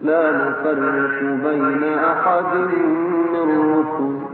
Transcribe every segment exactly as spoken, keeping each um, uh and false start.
لا نفرق بين أحد من رسله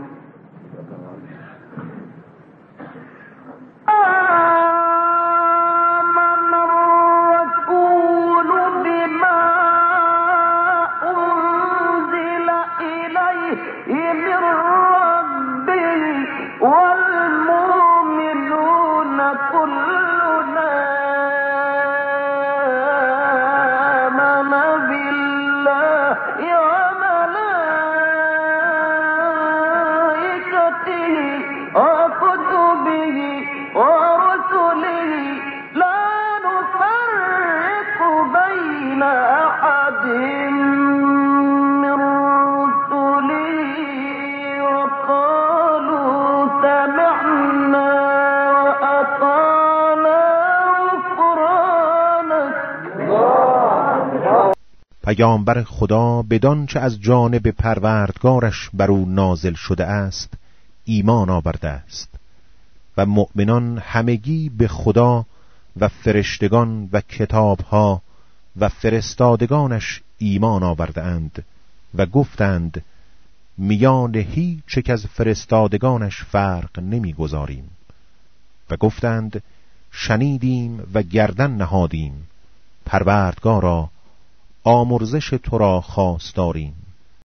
پیامبر خدا بدان چه از جانب پروردگارش بر او نازل شده است ایمان آورده است و مؤمنان همگی به خدا و فرشتگان و کتابها و فرستادگانش ایمان آورده اند و گفتند میان هیچ یک از فرستادگانش فرق نمیگذاریم و گفتند شنیدیم و گردن نهادیم پروردگارا آمرزش تو را خواستاریم.